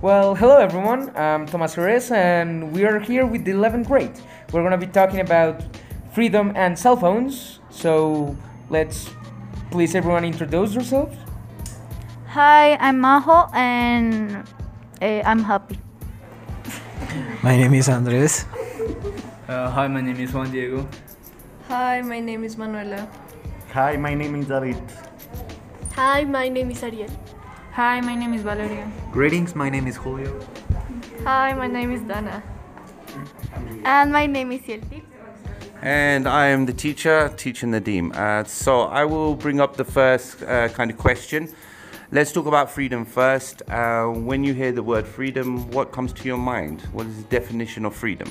Well, hello everyone. I'm Tomas Jerez, and we are here with the 11th grade. We're going to be talking about freedom and cell phones. So let's please everyone introduce yourselves. Hi, I'm Majo and I'm happy. My name is Andres. Hi, my name is Juan Diego. Hi, my name is Manuela. Hi, my name is David. Hi, my name is Ariel. Hi, my name is Valeria. Greetings, my name is Julio. Hi, my name is Dana. And my name is Yelti. And I am the teacher teaching Nadim. So I will bring up the first kind of question. Let's talk about freedom first. When you hear the word freedom, what comes to your mind? What is the definition of freedom?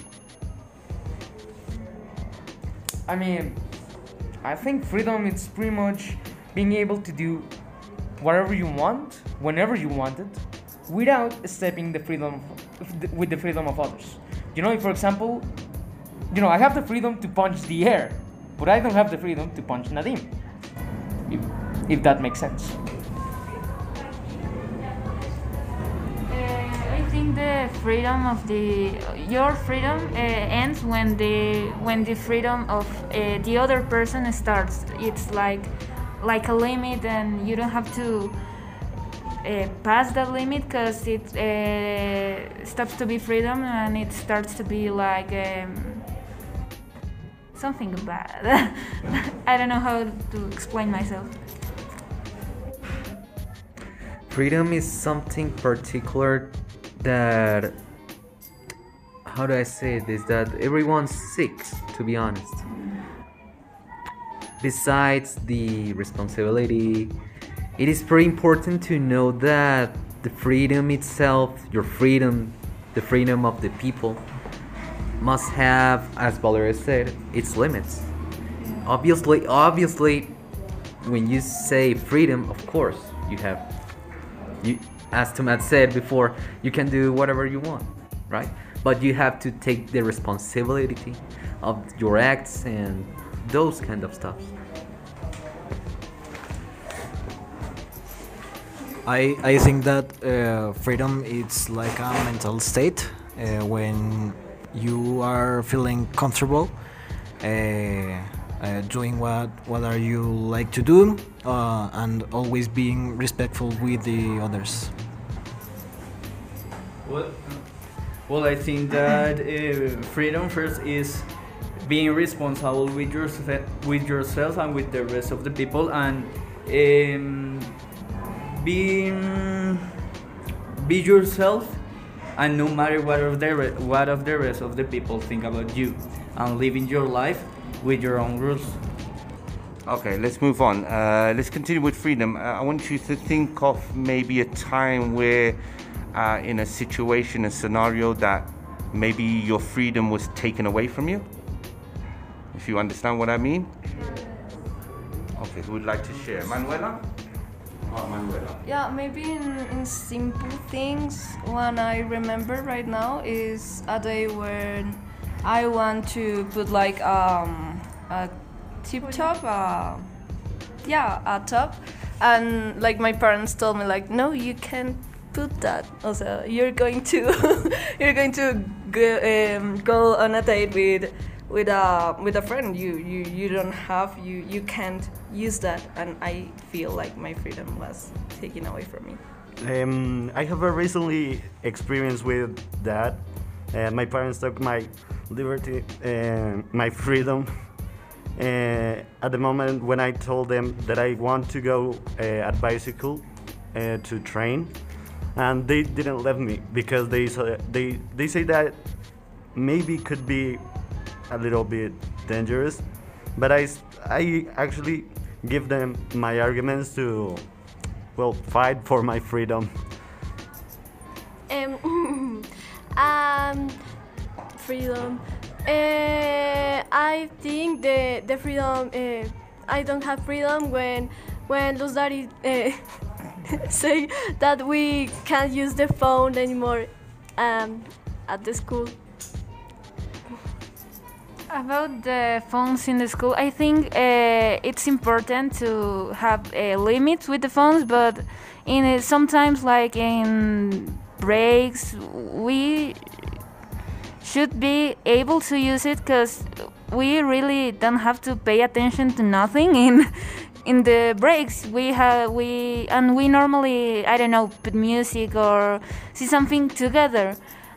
I think freedom is pretty much being able to do whatever you want, whenever you want it, without stepping with the freedom of others. For example, I have the freedom to punch the air, but I don't have the freedom to punch Nadim. If that makes sense. I think the freedom of your freedom ends when the freedom of the other person starts. It's like a limit, and you don't have to pass that limit, because it stops to be freedom and it starts to be like something bad. I don't know how to explain myself. Freedom is something particular that, how do I say this, that everyone seeks, to be honest. Besides the responsibility, it is very important to know that the freedom itself, your freedom, the freedom of the people, must have, as Valeria said, its limits. Obviously, when you say freedom, of course, as Tomas said before, you can do whatever you want, right? But you have to take the responsibility of your acts and those kind of stuff. I think that freedom is like a mental state when you are feeling comfortable doing what are you like to do and always being respectful with the others. Well, I think that freedom first is being responsible with yourself and with the rest of the people, and be yourself, and no matter what of the rest of the people think about you, and living your life with your own rules. Okay, let's move on. Let's continue with freedom. I want you to think of maybe a time where in a situation, a scenario that maybe your freedom was taken away from you. If you understand what I mean. Okay, who would like to share? Manuela? Manuela. Yeah, maybe in simple things. One I remember right now is a day when I want to put like a tip top, a top, and like my parents told me like, no, you can't put that. Also, you're going to go on a date with a friend. You don't have, you can't use that, and I feel like my freedom was taken away from me. I have a recently experience with that. My parents took my liberty, my freedom. At the moment when I told them that I want to go at bicycle to train, and they didn't let me because they say that maybe could be a little bit dangerous, but I actually give them my arguments to fight for my freedom. Freedom. I think the freedom. I don't have freedom when Los Daddy say that we can't use the phone anymore at the school. About the phones in the school, I think it's important to have limits with the phones, but sometimes, like in breaks, we should be able to use it because we really don't have to pay attention to nothing in the breaks. We normally, I don't know, put music or see something together,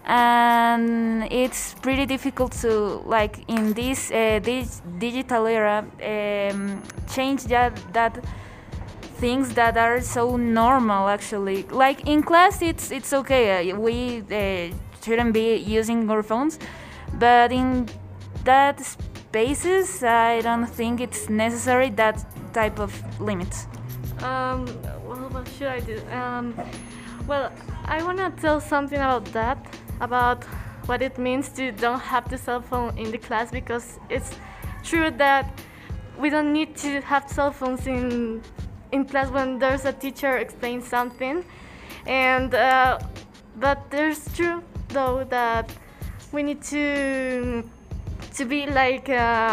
and it's pretty difficult to, like, in this digital era, change that things that are so normal. Actually, like in class, it's okay. We shouldn't be using our phones, but in that spaces, I don't think it's necessary that type of limits. Well, what should I do? Well, I want to tell something about that, about what it means to don't have the cell phone in the class, because it's true that we don't need to have cell phones in class when there's a teacher explains something, and but there's true though that we need to be like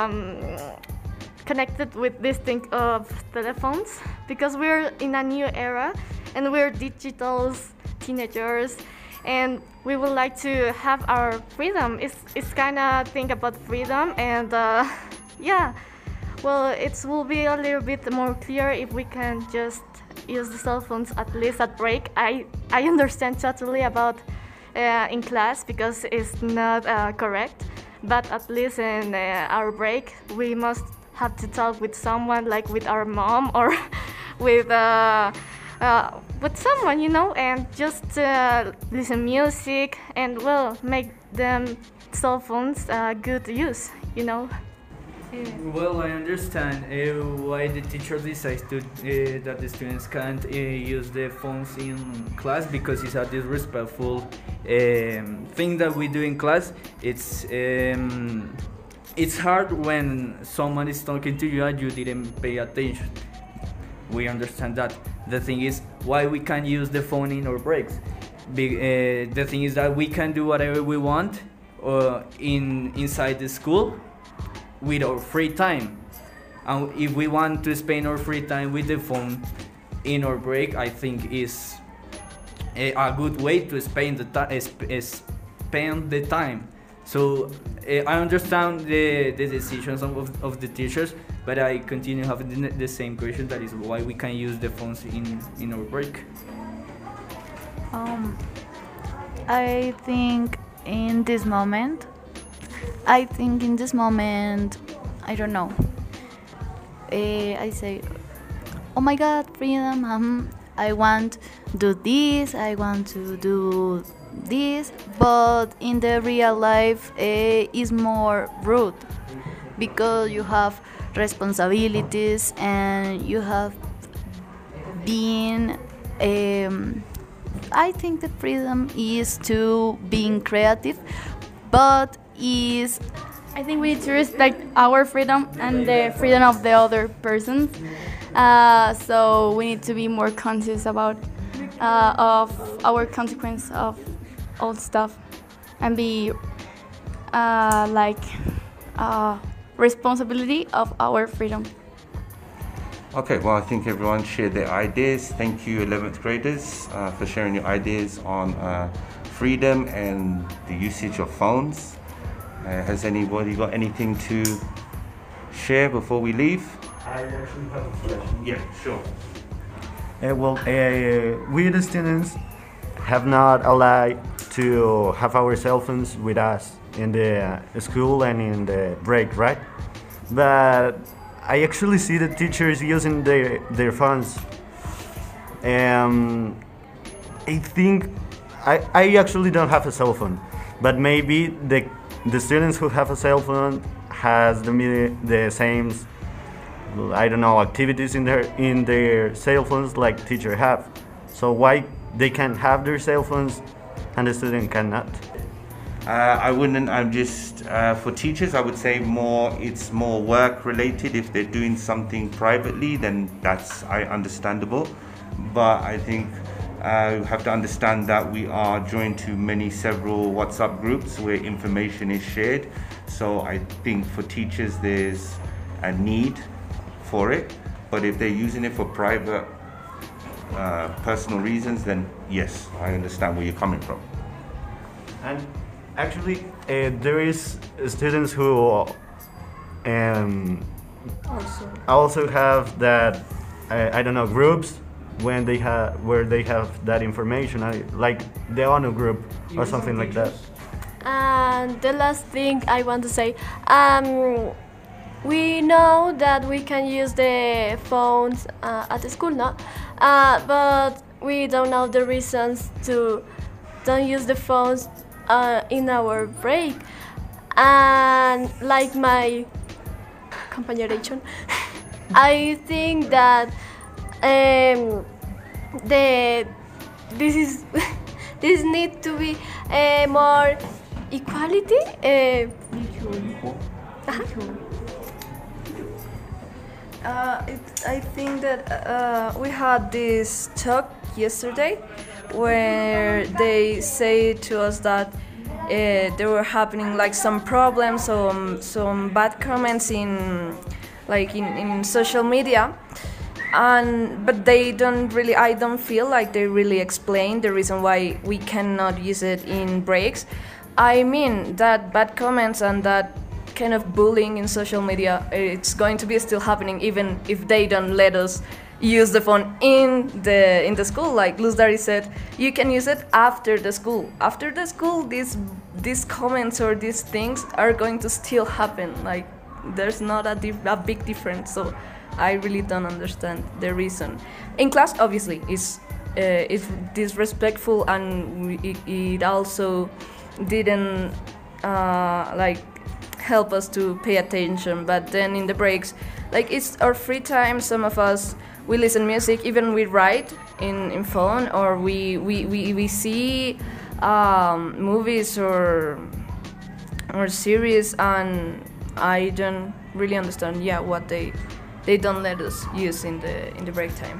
connected with this thing of telephones, because we're in a new era and we're digital teenagers, and we would like to have our freedom. It's kind of thing about freedom, and yeah, well, it will be a little bit more clear if we can just use the cell phones at least at break. I understand totally about in class because it's not correct, but at least in our break we must have to talk with someone, like with our mom or with someone, you know, and just listen music and, well, make them cell phones good use, you know. Well, I understand why the teacher decides to that the students can't use the phones in class, because it's a disrespectful thing that we do in class. It's hard when someone is talking to you and you didn't pay attention. We understand that. The thing is why we can't use the phone in our breaks. The thing is that we can do whatever we want inside the school with our free time, and if we want to spend our free time with the phone in our break, I think is a good way to spend the time. So I understand the decisions of the teachers, but I continue having the same question, that is why we can use the phones in our break. I think in this moment, I don't know. I say, oh my God, freedom. I want to do this. I want to do this. But in the real life, is more rude, because you have responsibilities and you have been. I think the freedom is to being creative, but I think we need to respect our freedom and the freedom of the other person. So we need to be more conscious about of our consequence of all stuff, and be responsibility of our freedom. Okay, well, I think everyone shared their ideas. Thank you, 11th graders, for sharing your ideas on freedom and the usage of phones. Has anybody got anything to share before we leave? I actually have a question. Yeah, sure. We the students have not allowed to have our cell phones with us in the school and in the break, right? But I actually see the teachers using their phones. I think I actually don't have a cell phone, but maybe the students who have a cell phone has the same, I don't know, activities in their cell phones like teacher have. So why they can have their cell phones and the student cannot? I wouldn't. I'm just for teachers. I would say it's more work related. If they're doing something privately, then that's understandable. But I think you have to understand that we are joined to several WhatsApp groups where information is shared. So I think for teachers there's a need for it. But if they're using it for private personal reasons, then yes, I understand where you're coming from. And actually, there is students who also have that I don't know, groups when they have where they have that information, like the honor group or something like that. And the last thing I want to say, we know that we can use the phones at the school, no? But we don't know the reasons to don't use the phones in our break. And like my compañeration, I think that this this need to be more equality. I think that we had this talk yesterday where they say to us that there were happening like some problems, some bad comments in social media, but they don't really. I don't feel like they really explain the reason why we cannot use it in breaks. I mean that bad comments and that kind of bullying in social media, it's going to be still happening even if they don't let us use the phone in the school. Like Luz Dari said, you can use it after the school. After the school, these comments or these things are going to still happen. Like there's not a big difference. So I really don't understand the reason. In class, obviously, it's disrespectful, and it also didn't help us to pay attention. But then in the breaks, like it's our free time, some of us, we listen music, even we write in phone, or we see movies or series, and I don't really understand what they don't let us use in the break time.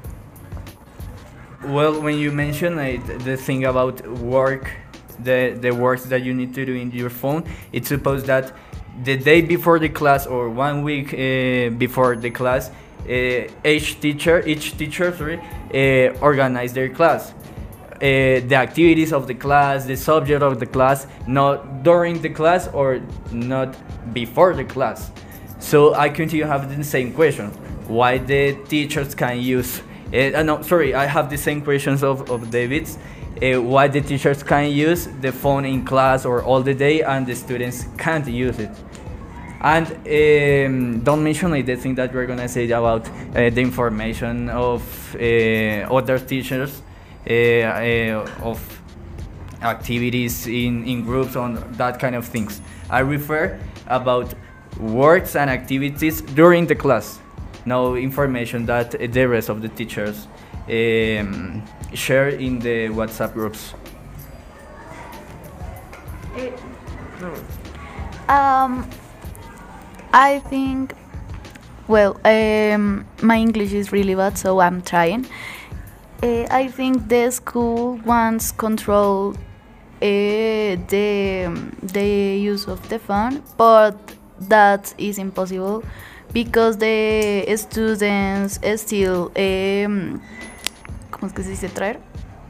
Well, when you mention the thing about work, the works that you need to do in your phone, it's supposed that the day before the class or 1 week before the class, each teacher organize their class, the activities of the class, the subject of the class, not during the class or not before the class. So I continue having the same question: why the teachers can use? No, sorry, I have the same questions of David's. Why the teachers can use the phone in class or all the day and the students can't use it? And don't mention the thing that we're gonna say about the information of other teachers, of activities in groups, on that kind of things. I refer about works and activities during the class. No information that the rest of the teachers share in the WhatsApp groups. I think, well, my English is really bad, so I'm trying. I think the school wants control the use of the phone, but that is impossible because the students still ¿cómo es que se dice traer?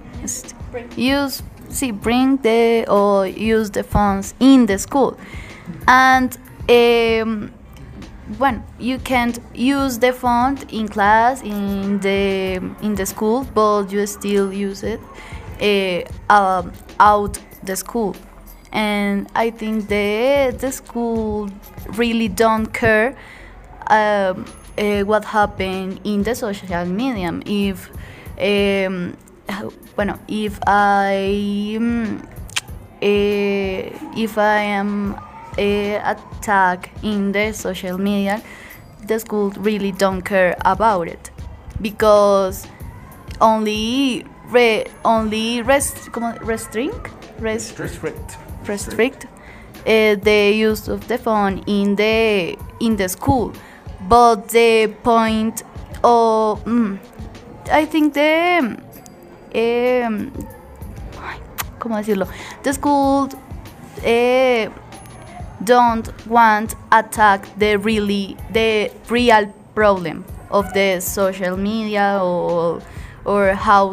Use the phones in the school, and when you can't use the phone in class in the school, but you still use it out the school. And I think the school really don't care what happened in the social media. If I am attacked in the social media, the school really don't care about it, because only restrict the use of the phone in the school. But the point of I think ¿cómo decirlo? The school don't want attack the real problem of the social media or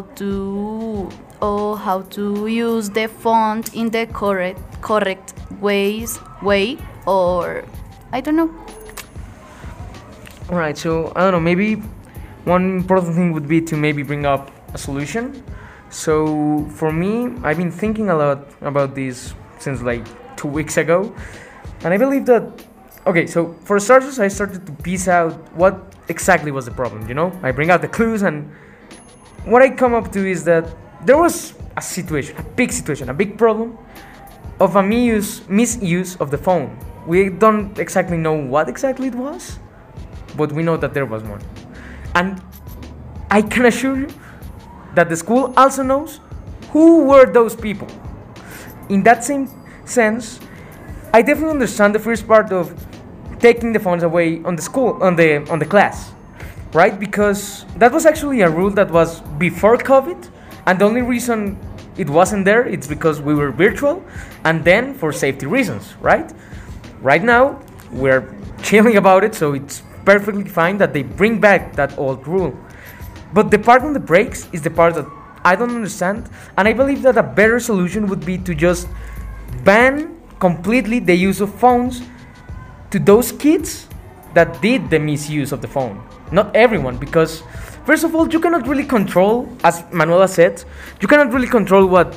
how to use the font in the correct way, or I don't know. Alright, so I don't know, maybe one important thing would be to maybe bring up a solution. So for me, I've been thinking a lot about this since like 2 weeks ago, and I believe that, okay, so for starters, I started to piece out what exactly was the problem, you know? I bring out the clues, and what I come up to is that there was a situation, a big problem of a misuse of the phone. We don't exactly know what exactly it was, but we know that there was one. And I can assure you that the school also knows who were those people. In that same sense, I definitely understand the first part of taking the phones away on the school, on the class, right? Because that was actually a rule that was before COVID, and the only reason it wasn't there, it's because we were virtual, and then for safety reasons, right? Right now, we're chilling about it, so it's perfectly fine that they bring back that old rule. But the part on the breaks is the part that I don't understand, and I believe that a better solution would be to just ban completely the use of phones to those kids that did the misuse of the phone. Not everyone, because first of all, you cannot really control, as Manuela said, you cannot really control what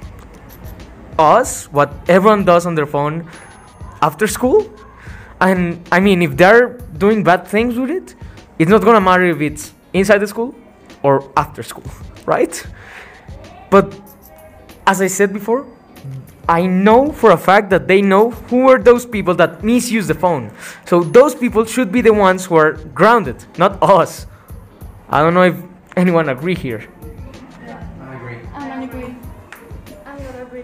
everyone does on their phone after school. And I mean, if they're doing bad things with it, it's not gonna matter if it's inside the school or after school, right? But as I said before, I know for a fact that they know who are those people that misuse the phone. So those people should be the ones who are grounded, not us. I don't know if anyone agree here. I don't agree. I'm gonna agree.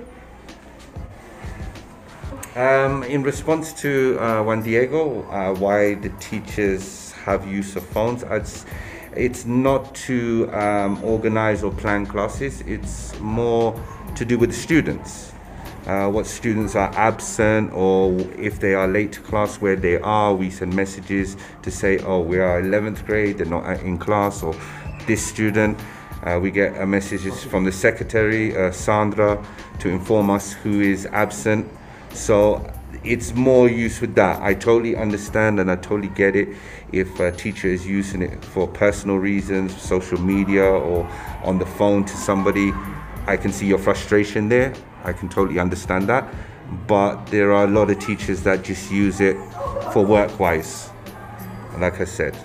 In response to Juan Diego, why the teachers have use of phones, it's not to organize or plan classes, it's more to do with the students. What students are absent, or if they are late to class, where they are, we send messages to say, oh, we are 11th grade, they're not in class, or this student. We get messages from the secretary, Sandra, to inform us who is absent. So it's more use with that. I totally understand and I totally get it if a teacher is using it for personal reasons, social media, or on the phone to somebody. I can see your frustration there. I can totally understand that. But there are a lot of teachers that just use it for work-wise, like I said.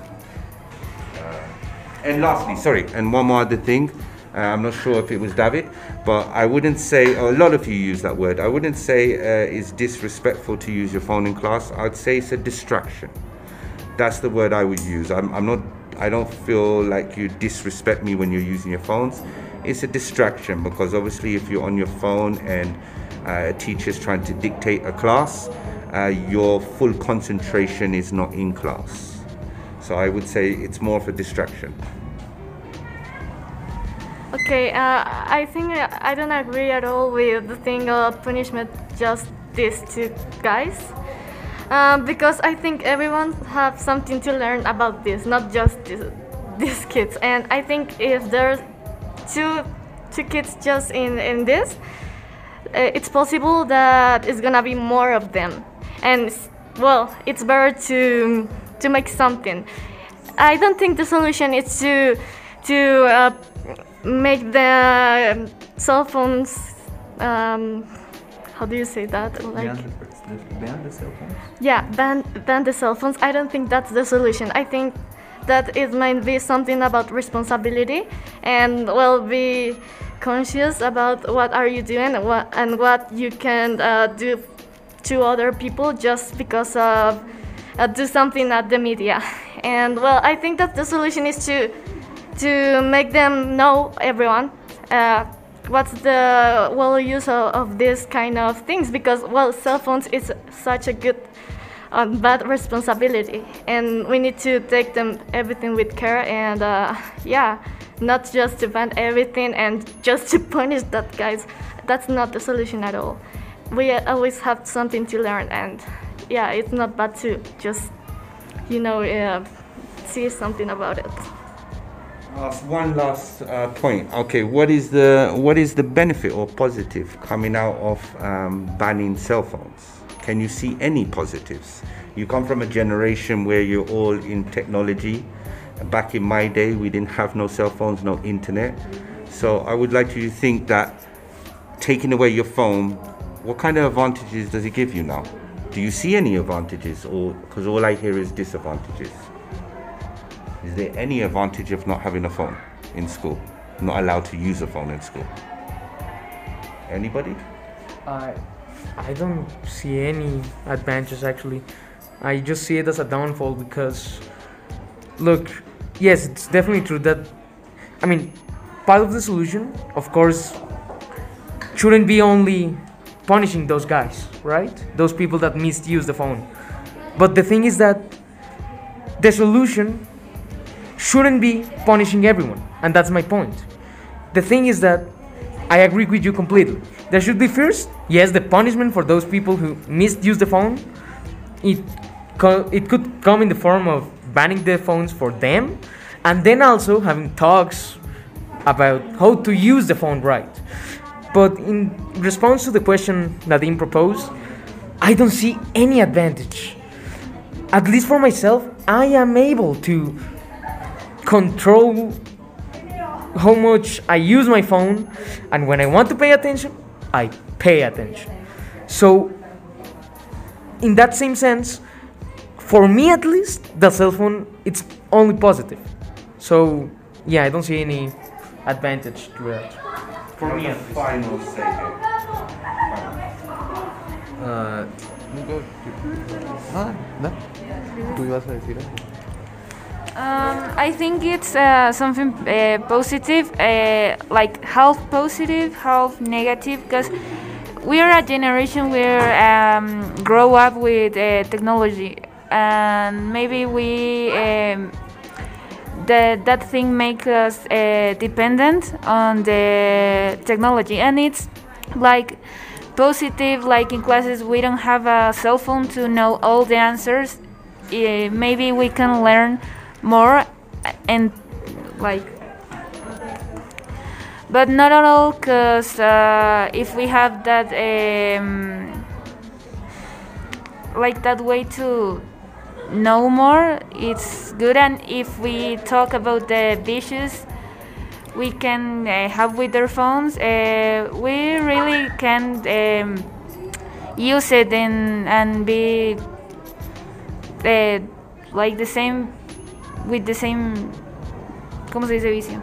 And lastly, sorry, and one more other thing. I'm not sure if it was David, but I wouldn't say, a lot of you use that word, I wouldn't say it's disrespectful to use your phone in class. I'd say it's a distraction. That's the word I would use. I don't feel like you disrespect me when you're using your phones. It's a distraction, because obviously if you're on your phone and a teacher's trying to dictate a class, your full concentration is not in class. So I would say it's more of a distraction. Okay, I think I don't agree at all with the thing of punishment just these two guys. Because I think everyone have something to learn about this, not just these kids. And I think if there's two kids just in this, it's possible that it's gonna be more of them. And well, it's better to make something. I don't think the solution is to make the cell phones. How do you say that? Like, ban the cell phones. yeah, ban the cell phones. I don't think that's the solution. I think that it might be something about responsibility, and well, be conscious about what are you doing and what you can do to other people just because of do something at the media. And well, I think that the solution is to make them know, everyone, what's the well use of this kind of things, because well, cell phones is such a good bad responsibility, and we need to take them everything with care, and yeah, not just to ban everything and just to punish that guys. That's not the solution at all. We always have something to learn, and yeah, it's not bad to just see something about it. Ask one last point. Okay, what is the benefit or positive coming out of banning cell phones? Can you see any positives? You come from a generation where you're all in technology. Back in my day, we didn't have no cell phones, no internet. So I would like you to think that taking away your phone, what kind of advantages does it give you now? Do you see any advantages, or because all I hear is disadvantages? Is there any advantage of not having a phone in school? Not allowed to use a phone in school? Anybody? I don't see any advantages actually. I just see it as a downfall because, look, yes, it's definitely true that, I mean, part of the solution, of course, shouldn't be only punishing those guys, right? Those people that misuse the phone. But the thing is that the solution shouldn't be punishing everyone, and that's my point. The thing is that I agree with you completely. There should be first, yes, the punishment for those people who misuse the phone. It could come in the form of banning the phones for them, and then also having talks about how to use the phone right. But in response to the question Nadim proposed, I don't see any advantage. At least for myself, I am able to control how much I use my phone, and when I want to pay attention, I pay attention. So, in that same sense, for me at least, the cell phone, it's only positive. So, yeah, I don't see any advantage to that. For me, at least. Final say here. No. ¿Tú ibas a decir algo? I think it's something positive, like half positive, half negative, because we are a generation where grow up with technology, and maybe we that thing makes us dependent on the technology, and it's like positive, like in classes we don't have a cell phone to know all the answers. Maybe we can learn more and like, but not at all, because if we have that like that way to know more, it's good. And if we talk about the issues we can have with their phones, we really can use it and be like the same, with the same, ¿cómo se dice vicio?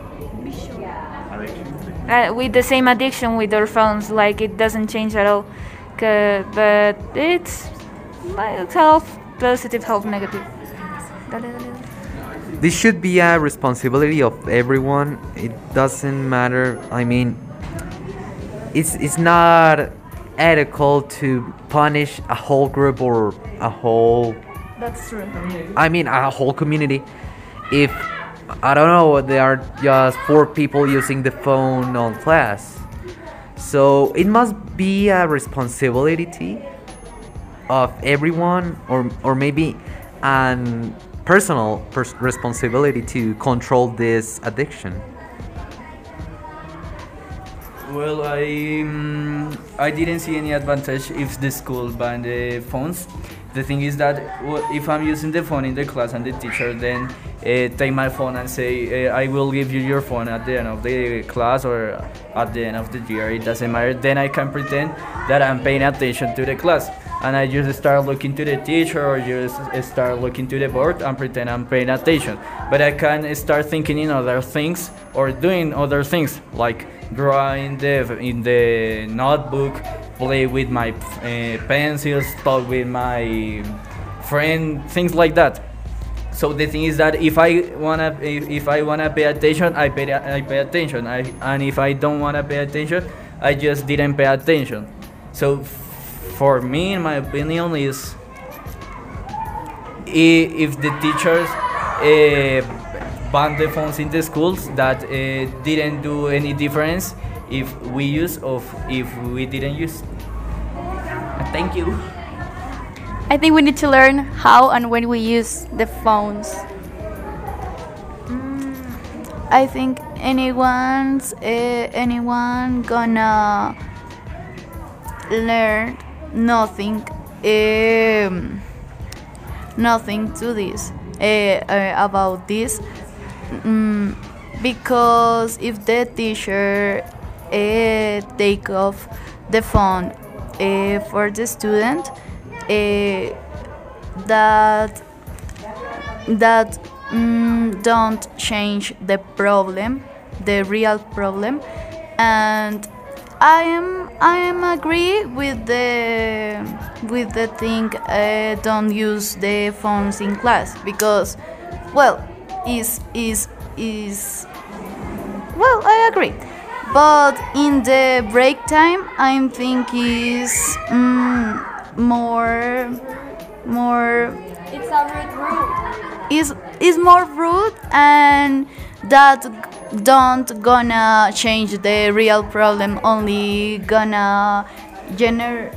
With the same addiction with our phones, like it doesn't change at all. But it's like half positive, half negative. This should be a responsibility of everyone. It doesn't matter. I mean, it's not ethical to punish a whole group or a whole. That's true. I mean, a whole community. If I don't know, there are just 4 people using the phone on class, so it must be a responsibility of everyone, or maybe an personal responsibility to control this addiction. Well, I didn't see any advantage if the school banned the phones. The thing is that if I'm using the phone in the class and the teacher then take my phone and say, I will give you your phone at the end of the class or at the end of the year, it doesn't matter, then I can pretend that I'm paying attention to the class. And I just start looking to the teacher or just start looking to the board and pretend I'm paying attention. But I can start thinking in other things or doing other things, like drawing in the notebook, play with my pencils, talk with my friend, things like that. So the thing is that if I wanna pay attention, I pay attention. And if I don't wanna pay attention, I just didn't pay attention. So for me, in my opinion, is if the teachers ban the phones in the schools, that didn't do any difference if we use or if we didn't use. Thank you. I think we need to learn how and when we use the phones. I think anyone gonna learn nothing nothing to this about this, because if the teacher take off the phone for the student, that don't change the problem, the real problem. And I am agree with the thing, don't use the phones in class, because well is well, I agree, but in the break time I think is more It's a rude. is more rude, and that don't gonna change the real problem, only gonna generate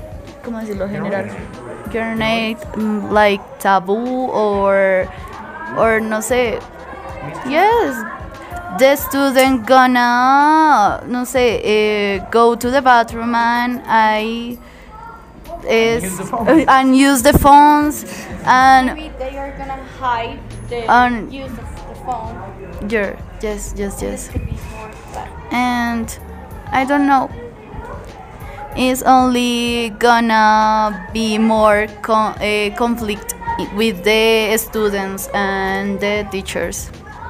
like taboo or no sé. Yes, the student gonna no sé, go to the bathroom and and use the phones, and Maybe they are gonna hide the use of the phone. yeah, yes. This could be more bad. And I don't know, it's only gonna be more conflict with the students and the teachers.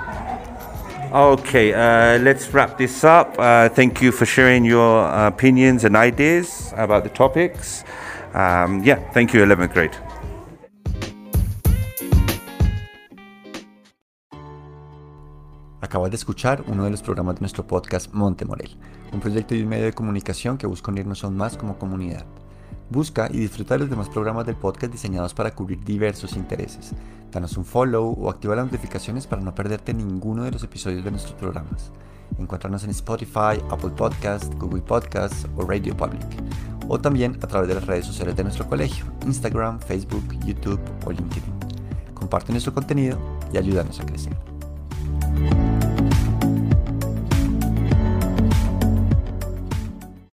Okay, let's wrap this up. Thank you for sharing your opinions and ideas about the topics. Thank you, 11th grade. Acabas de escuchar uno de los programas de nuestro podcast Monte Morel, un proyecto y un medio de comunicación que busca unirnos aún más como comunidad. Busca y disfruta de los demás programas del podcast diseñados para cubrir diversos intereses. Danos un follow o activa las notificaciones para no perderte ninguno de los episodios de nuestros programas. Encuéntranos en Spotify, Apple Podcasts, Google Podcasts o Radio Public. O también a través de las redes sociales de nuestro colegio, Instagram, Facebook, YouTube o LinkedIn. Comparte nuestro contenido y ayúdanos a crecer.